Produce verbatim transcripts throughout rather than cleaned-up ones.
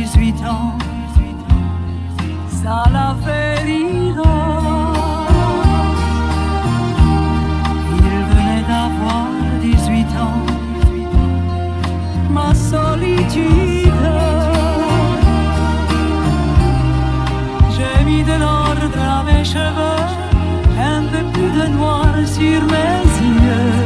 dix-huit ans, ça l'a fait rire. Il venait d'avoir dix-huit ans, ma solitude. J'ai mis de l'ordre à mes cheveux, un peu plus de noir sur mes yeux.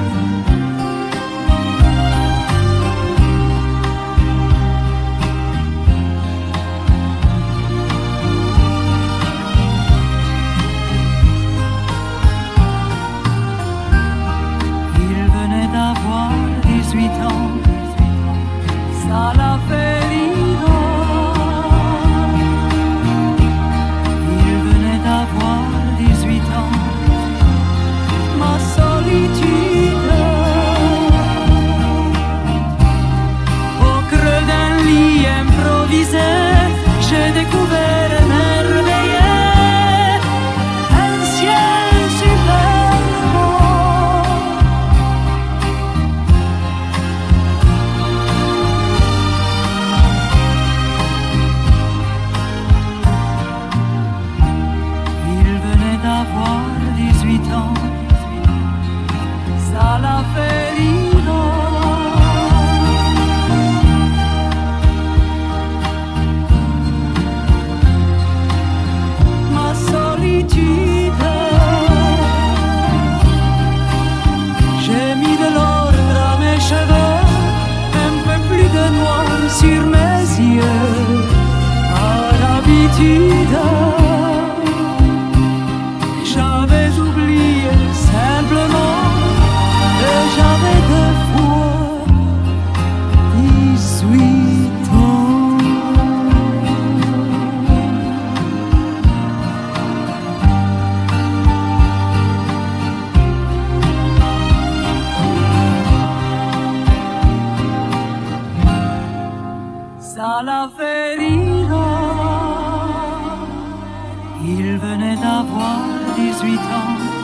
dix-huit ans, ça l'a fait rire. Il venait d'avoir dix-huit ans, ma solitude. Au creux d'un lit improvisé, j'ai découvert émerveillé un ciel superbe. D'avoir dix-huit ans, ça l'a fait rire. Ma solitude, j'ai mis de l'ordre à mes cheveux, un peu plus de noir sur mes yeux. À l'habitude, j'avais oublié simplement que j'avais deux fois dix-huit ans. Ça l'a fait rire. Il venait d'avoir dix-huit ans,